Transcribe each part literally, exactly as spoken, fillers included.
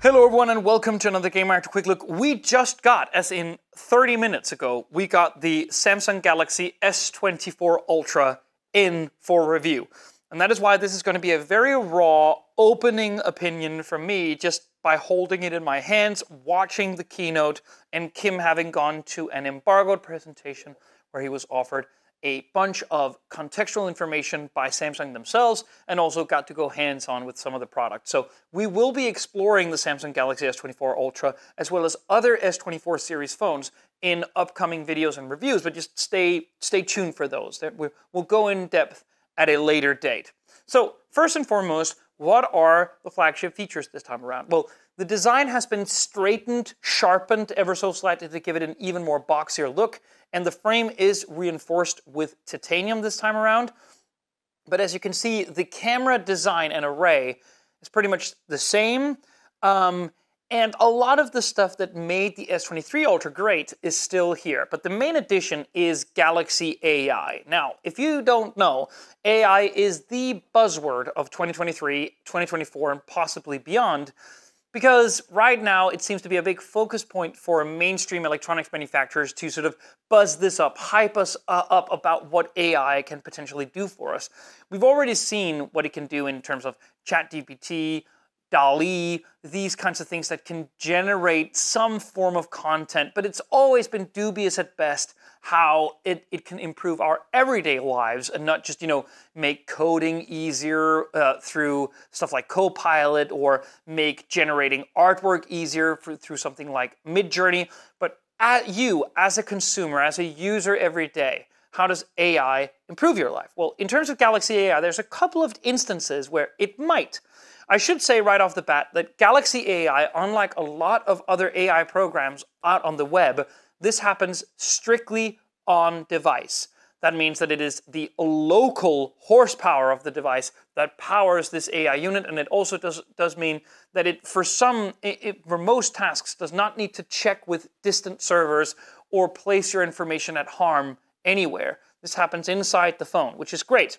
Hello everyone and welcome to another Gamereactor Quick Look. We just got, as in thirty minutes ago, we got the Samsung Galaxy S twenty-four Ultra in for review. And that is why this is going to be a very raw opening opinion from me, just by holding it in my hands, watching the keynote, and Kim having gone to an embargoed presentation where he was offered a bunch of contextual information by Samsung themselves, and also got to go hands-on with some of the products. So we will be exploring the Samsung Galaxy S twenty-four Ultra, as well as other S twenty-four series phones in upcoming videos and reviews, but just stay, stay tuned for those. We'll go in depth at a later date. So first and foremost, what are the flagship features this time around? Well, the design has been straightened, sharpened ever so slightly to give it an even more boxier look, and the frame is reinforced with titanium this time around. But as you can see, the camera design and array is pretty much the same, um, and a lot of the stuff that made the S twenty-three Ultra great is still here. But the main addition is Galaxy A I. Now, if you don't know, A I is the buzzword of twenty twenty-three, twenty twenty-four, and possibly beyond, because right now it seems to be a big focus point for mainstream electronics manufacturers to sort of buzz this up, hype us uh, up about what A I can potentially do for us. We've already seen what it can do in terms of ChatGPT, DALL-E, these kinds of things that can generate some form of content, but it's always been dubious at best how it, it can improve our everyday lives and not just, you know, make coding easier uh, through stuff like Copilot, or make generating artwork easier for, through something like Midjourney. But at you, as a consumer, as a user every day, how does A I improve your life? Well, in terms of Galaxy A I, there's a couple of instances where it might. I should say right off the bat that Galaxy A I, unlike a lot of other A I programs out on the web, this happens strictly on device. That means that it is the local horsepower of the device that powers this A I unit, and it also does, does mean that it, for some, it, it, for most tasks, does not need to check with distant servers or place your information at harm anywhere. This happens inside the phone, which is great.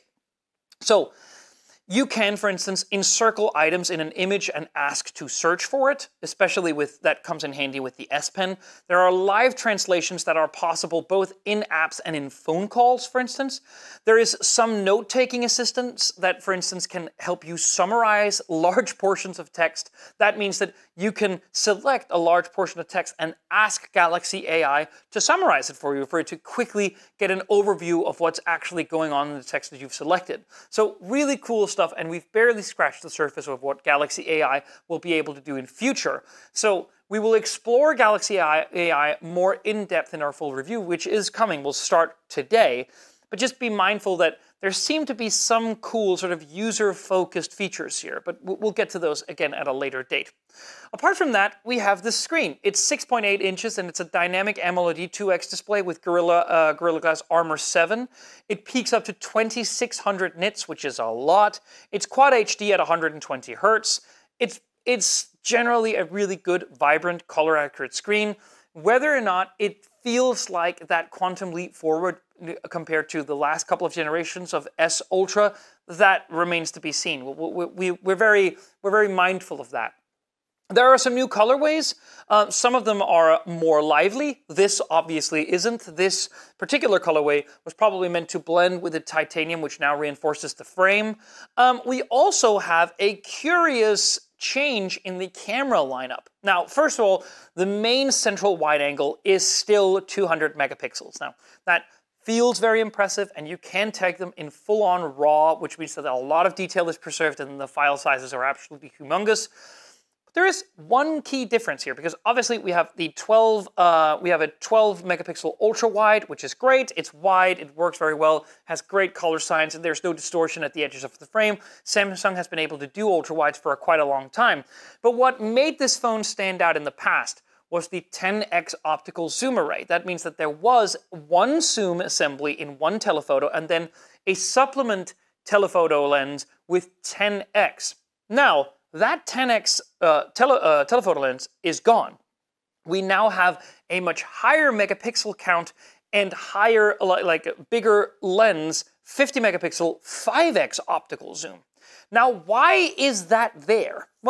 So, you can, for instance, encircle items in an image and ask to search for it, especially with, that comes in handy with the S Pen. There are live translations that are possible both in apps and in phone calls, for instance. There is some note-taking assistance that, for instance, can help you summarize large portions of text. That means that you can select a large portion of text and ask Galaxy A I to summarize it for you, for it to quickly get an overview of what's actually going on in the text that you've selected. So really cool stuff. Stuff, and we've barely scratched the surface of what Galaxy A I will be able to do in future. So we will explore Galaxy A I more in depth in our full review, which is coming. We'll start today, but just be mindful that there seem to be some cool sort of user-focused features here, but we'll get to those again at a later date. Apart from that, we have the screen. It's six point eight inches, and it's a dynamic AMOLED two X display with Gorilla, uh, Gorilla Glass Armor seven. It peaks up to twenty-six hundred nits, which is a lot. It's Quad H D at one hundred twenty hertz. It's, it's generally a really good, vibrant, color-accurate screen. Whether or not it feels like that quantum leap forward compared to the last couple of generations of S Ultra, that remains to be seen. We, we, we're, very, we're very mindful of that. There are some new colorways. Uh, some of them are more lively. This obviously isn't. This particular colorway was probably meant to blend with the titanium, which now reinforces the frame. Um, we also have a curious change in the camera lineup. Now, first of all, the main central wide angle is still two hundred megapixels. Now, that feels very impressive, and you can take them in full-on RAW, which means that a lot of detail is preserved and the file sizes are absolutely humongous. But there is one key difference here, because obviously we have the twelve, uh, we have a twelve megapixel ultra wide, which is great. It's wide, it works very well, has great color science, and there's no distortion at the edges of the frame. Samsung has been able to do ultra wides for quite a long time. But what made this phone stand out in the past was the ten X optical zoom array. That means that there was one zoom assembly in one telephoto and then a supplement telephoto lens with ten X. Now, that ten X uh, tele, uh, telephoto lens is gone. We now have a much higher megapixel count and higher, like bigger lens, fifty megapixel five X optical zoom. Now, why is that there? Well,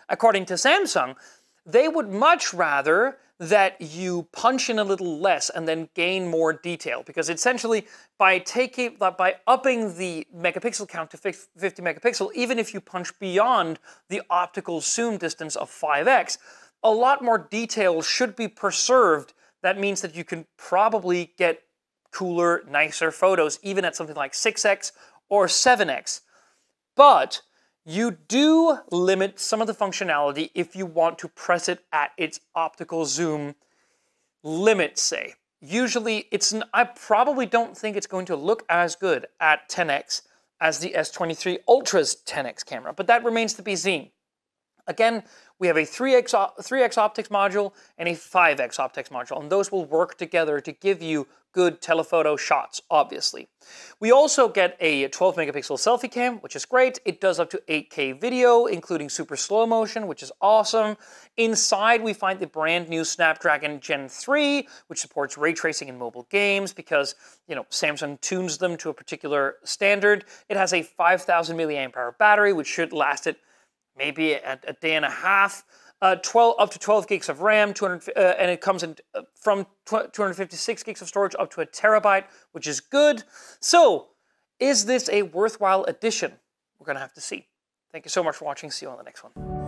According to Samsung, they would much rather that you punch in a little less and then gain more detail, because essentially by taking by upping the megapixel count to fifty megapixel, even if you punch beyond the optical zoom distance of five x, a lot more detail should be preserved. That means that you can probably get cooler, nicer photos even at something like six x or seven x. But you do limit some of the functionality if you want to press it at its optical zoom limit, say. Usually, it's an, I probably don't think it's going to look as good at ten x as the S twenty-three Ultra's ten x camera, but that remains to be seen. Again, we have a three x, three x optics module and a five x optics module, and those will work together to give you good telephoto shots, obviously. We also get a twelve megapixel selfie cam, which is great. It does up to eight K video, including super slow motion, which is awesome. Inside, we find the brand new Snapdragon Gen three, which supports ray tracing in mobile games because, you know, Samsung tunes them to a particular standard. It has a five thousand milliamp hour battery, which should last it maybe a, a day and a half. Uh, twelve up to twelve gigs of RAM, two hundred, uh, and it comes in uh, from two hundred fifty-six gigs of storage up to a terabyte, which is good. So, is this a worthwhile addition? We're going to have to see. Thank you so much for watching. See you on the next one.